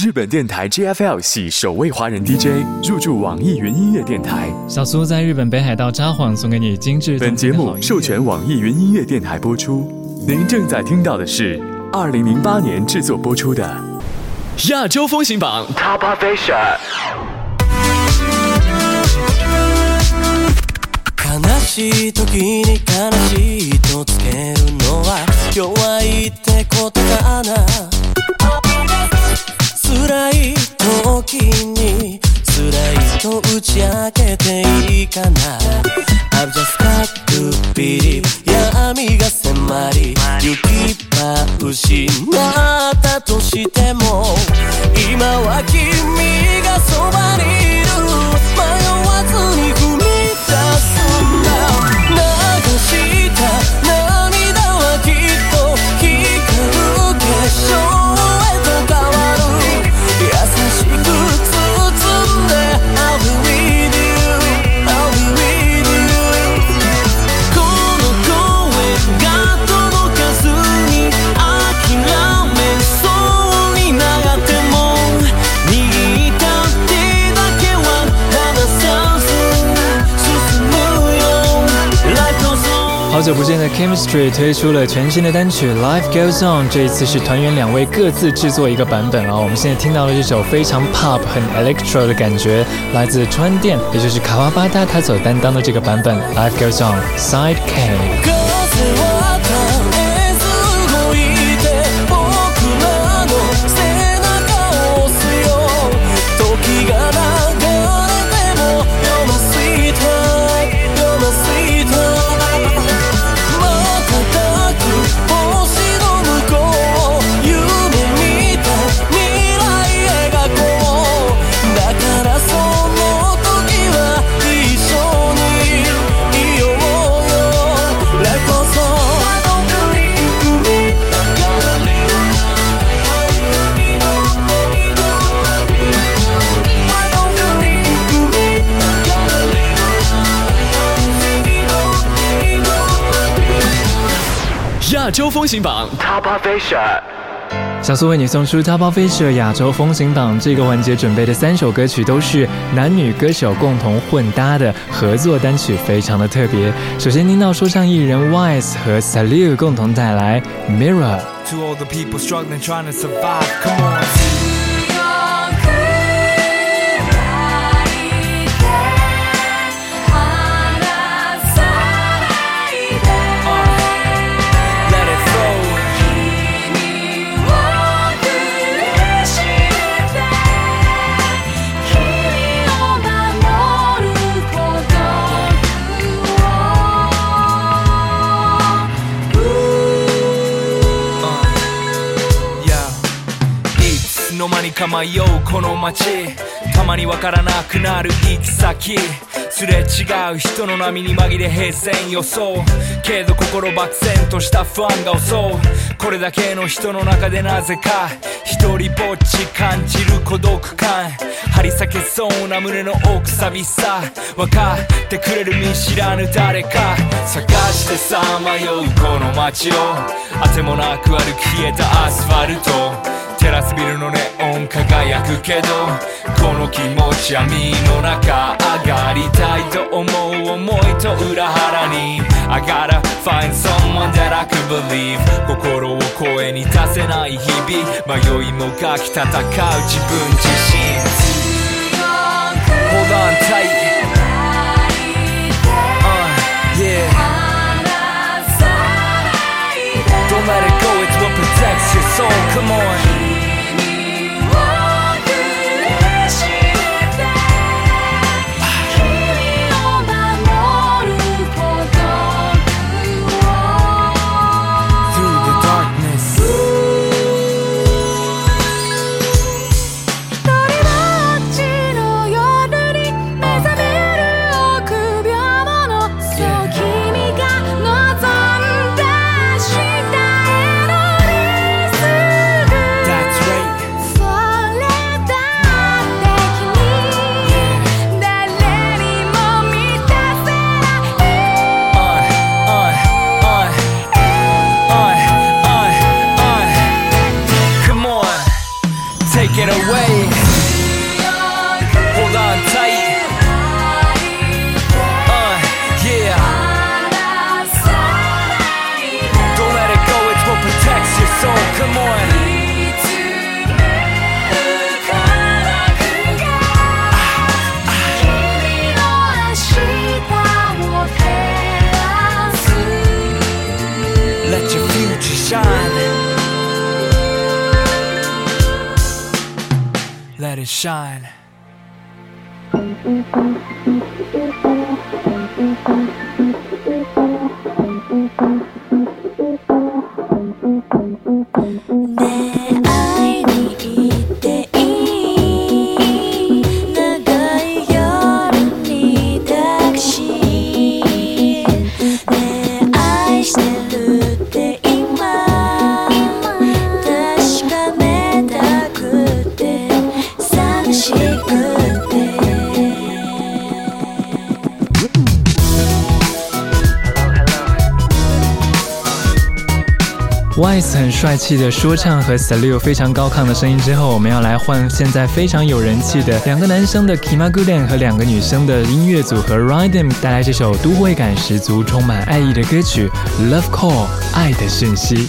日本电台 JFL 系首位华人 DJ 入驻网易云音乐电台。 小苏在日本北海道札幌送给你精致。 本节目授权网易云音乐电台播出。您正在听到的是2008年制作播出的亚洲风行榜 Top of Asia。 悲しい時に悲しいとつけるのは弱いってことかな。辛い時に辛いと打ち明けていいかな。 I've just got to believe 闇が迫り行き場失ったとしても今は君がそばにいる。迷わずに踏み出すんだ。流した涙はきっと光る結晶へと変わる。優しく包んで I'll be with you I'll be with you。 この声が届かずに諦めそうになっても握った手だけは離さず進むよ。 Life goes on。 好久不见的 Chemistry 推出了全新的单曲 Life Goes On， 这一次是团员2位各自制作一个版本我们现在听到的这首非常 pop 很 electro 的感觉来自川电，也就是卡瓦巴塔他所担当的这个版本 Life Goes On Side K。 亚洲风行榜 Top of Asia。 小苏为你送出 Top of Asia 亚洲风行榜，这个环节准备的3首歌曲都是男女歌手共同混搭的合作单曲，非常的特别。首先听到说唱艺人 Wise 和 Salute 共同带来 Mirror。 To all the people struggling trying to survive, come on。か迷うこの街、たまにわからなくなる行き先、すれ違う人の波に紛れ平然予想、けど心漠然とした不安が襲う。これだけの人の中でなぜか一人ぼっち感じる孤独感、張り裂けそうな胸の奥寂しさ、分かってくれる見知らぬ誰か探してさまようこの街を、あてもなく歩き消えたアスファルト、テラスビルのネオン輝くけどこの気持ち闇の中上がりたいと思う思いと裏腹に I gotta find someone that I can believe 心を声に出せない日々、迷いもがき戦う自分自身 Hold on tight yeah Don't let it go, it's what protects your soul, come on take it away. Hold on tight. Yeah. Don't let it go, it's what protects your soul. Come on. Let your future shine. Let it shine. Wise 很帅气的说唱和 Salute 非常高亢的声音之后，我们要来换现在非常有人气的两个男生的 Kimaguren 和两个女生的音乐组合 Rhythm 带来这首都会感十足、充滿愛意的歌曲 Love Call 愛的訊息。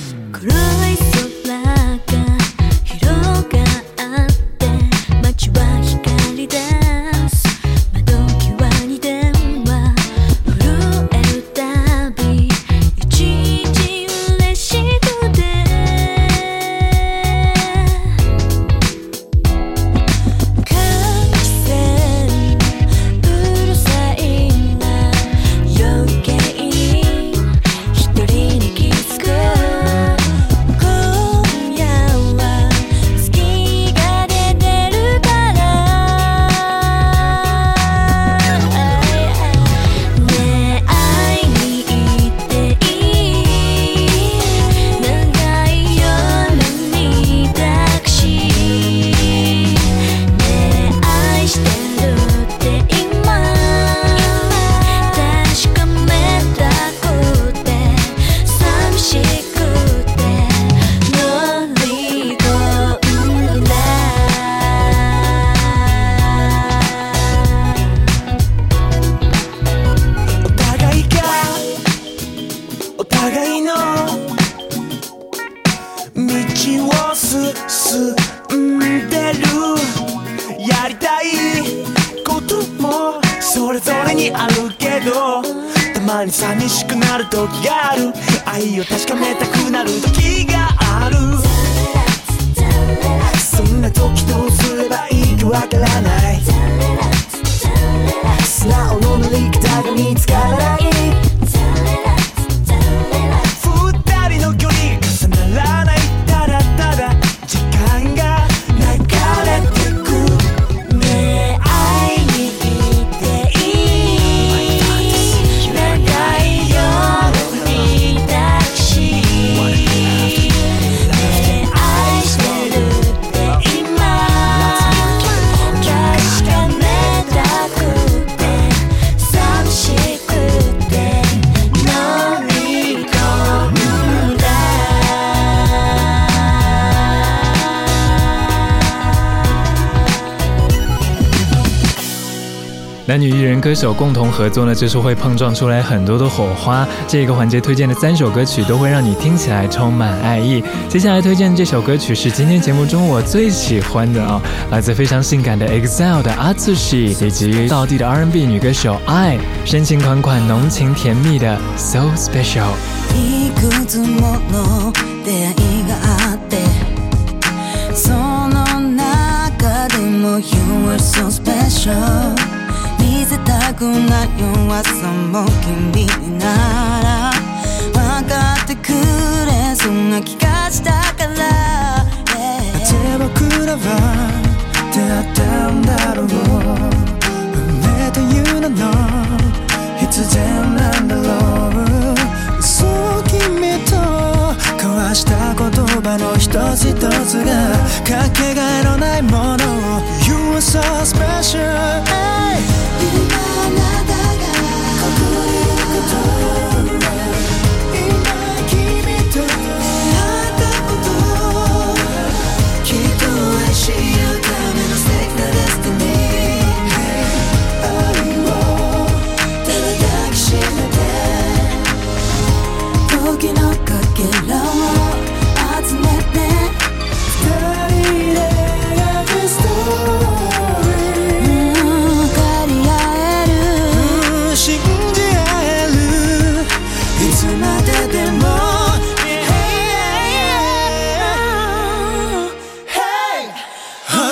寂しくなる時がある愛を確かめたくなる時があるそんな時どうすればいいかわからない素直の乗り方が見つからない二人の距離が重ならないただただ時間が流れてくねえ会いに行っていい長い夜に抱きしねえ愛してるって今確かめたくて寂しくて飲み込んだ男女艺人歌手共同合作呢，就是会碰撞出来很多的火花。这个环节推荐的3首歌曲都会让你听起来充满爱意。接下来推荐这首歌曲是今天节目中我最喜欢的哦，来自非常性感的 EXILE 的 Atsushi 以及道地的 R&B 女歌手 I， 深情款款、浓情甜蜜的 So Special。 いくつもの出会いがあってその中でも You are so special見せたくない弱さも君なら分かってくれそんな気がしたから、なぜ僕らは出会ったんだろう運命という名の必然なんだろうそう君と交わした言葉の一つ一つがかけがえのないもの You are so special、今あなたがここにいること今君と出会ったこときっと嬉しい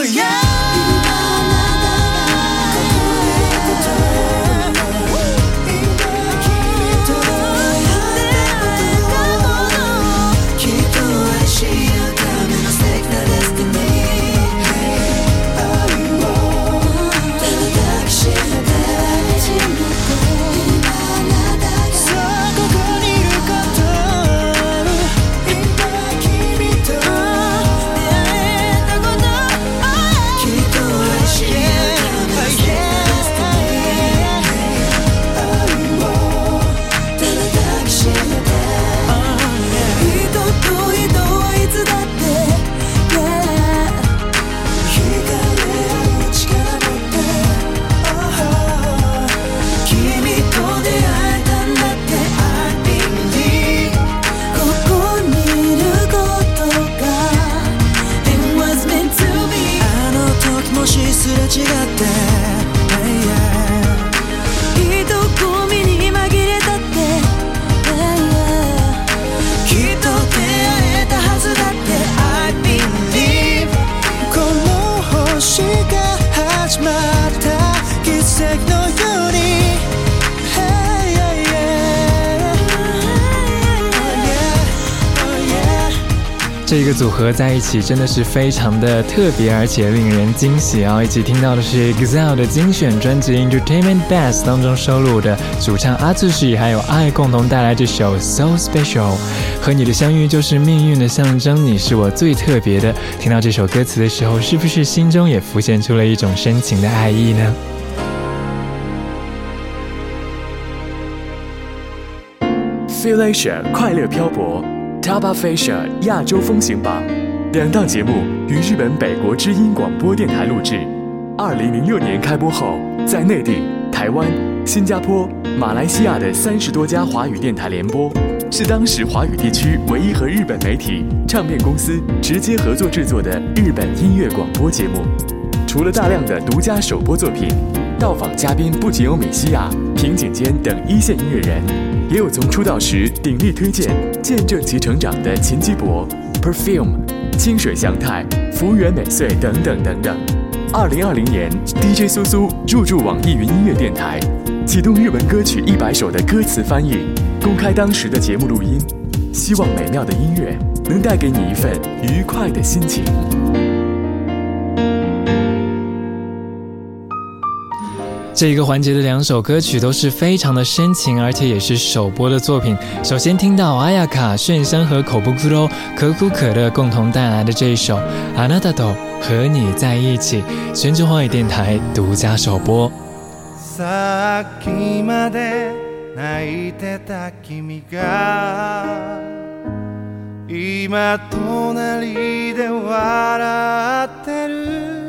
这一个组合在一起真的是非常的特别，而且令人惊喜啊！一起听到的是 EXILE 的精选专辑 Entertainment Best 当中收录的主唱Atsushi还有爱共同带来这首 So Special。 和你的相遇就是命运的象征，你是我最特别的。听到这首歌词的时候，是不是心中也浮现出了一种深情的爱意呢 ？Feel Asia 快乐漂泊Top of Asia 亚洲风行榜2档节目于日本北国之音广播电台录制。2006年开播后，在内地、台湾、新加坡、马来西亚的30多家华语电台联播，是当时华语地区唯一和日本媒体、唱片公司直接合作制作的日本音乐广播节目。除了大量的独家首播作品，到访嘉宾不仅有米西亚、平井坚等一线音乐人，也有从出道时鼎力推荐、见证其成长的秦基博、Perfume、清水祥太、福原美穗等等等等。2020年 ，DJ 苏苏入驻网易云音乐电台，启动日文歌曲100首的歌词翻译，公开当时的节目录音，希望美妙的音乐能带给你一份愉快的心情。 这一个环节的2首歌曲都是非常的深情，而且也是首播的作品。首先听到阿雅卡、炫香和口布库罗可口可乐共同带来的这一首《あなたと和你在一起》，全球华语电台独家首播。 さっきまで泣いてた君が今隣で笑ってる、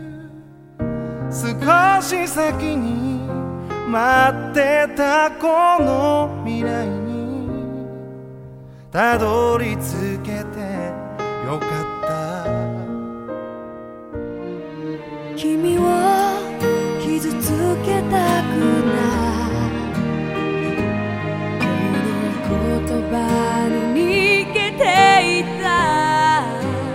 少し先に待ってたこの未来にたどり着けてよかった。 君を傷つけたくないこの言葉に逃げていた。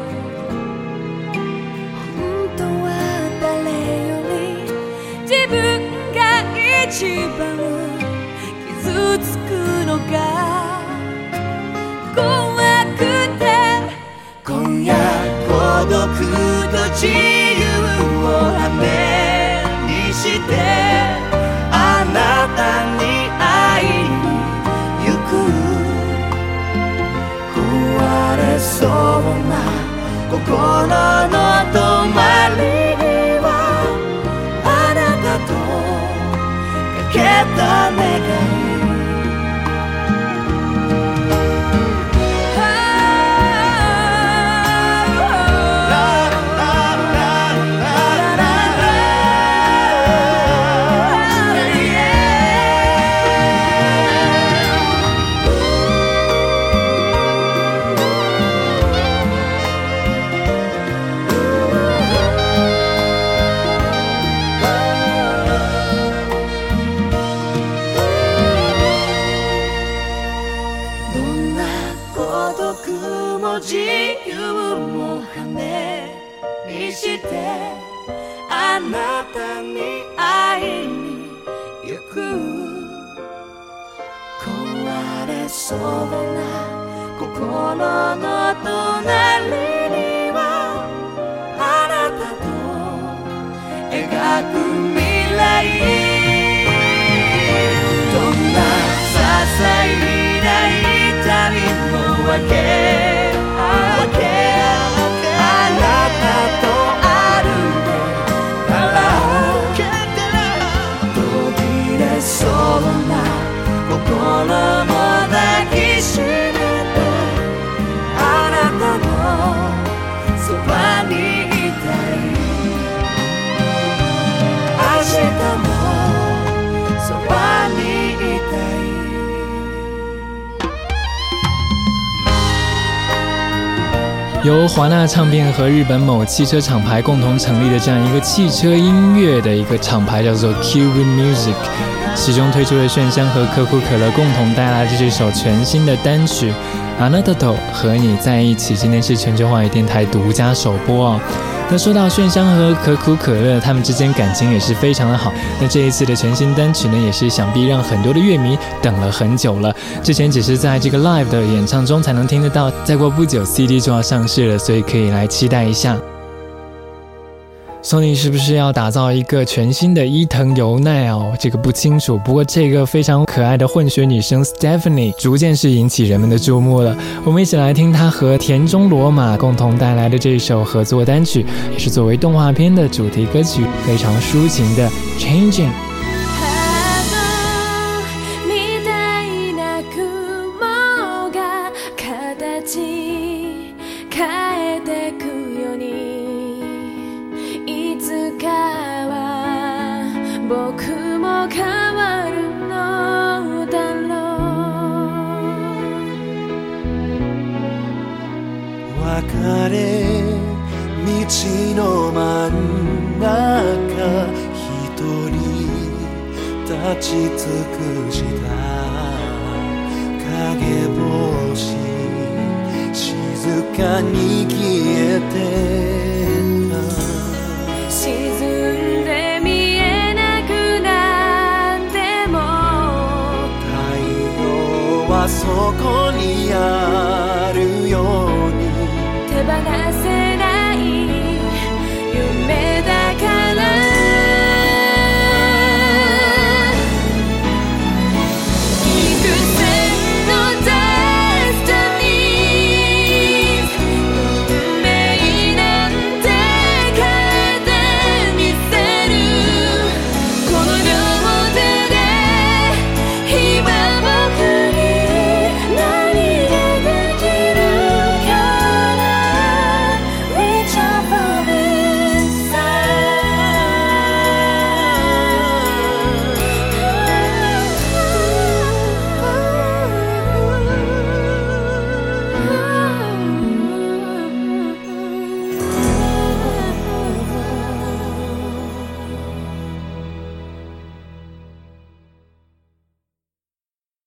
本当は誰より自分が一番傷つくのが怖くて、今夜孤独と自由を羽にしてあなたに会いに行く。壊れそうな心の止まりにはあなたとかけた願い。 にしてあなたに会いに行く壊れそうな心の隣にはあなたと描く未来どんな些細な痛みも分けあなたと歩けたら途切れそうな心も抱きしめてあなたのそばにいたい明日もそばにいたい由华纳唱片和日本某汽车厂牌共同成立的这样一个汽车音乐的一个厂牌叫做 Cuban Music， 其中推出了炫香和可口可乐共同带来的这首全新的单曲あなたと和你在一起，今天是全球华语电台独家首播哦。那说到炫香和可口可乐，他们之间感情也是非常的好。那这一次的全新单曲呢，也是想必让很多的乐迷等了很久了。之前只是在这个 live 的演唱中才能听得到，再过不久 CD 就要上市了，所以可以来期待一下。Sony 是不是要打造一个全新的伊藤由奈哦？这个不清楚。不过这个非常可爱的混血女生 Stephanie 逐渐是引起人们的注目了。我们一起来听她和田中罗马共同带来的这首合作单曲，也是作为动画片的主题歌曲，非常抒情的 Changing。 別れ道の真ん中一人立ち尽くした影星静かに消えてた沈んで見えなくなっても太陽はそこにあるように手放せ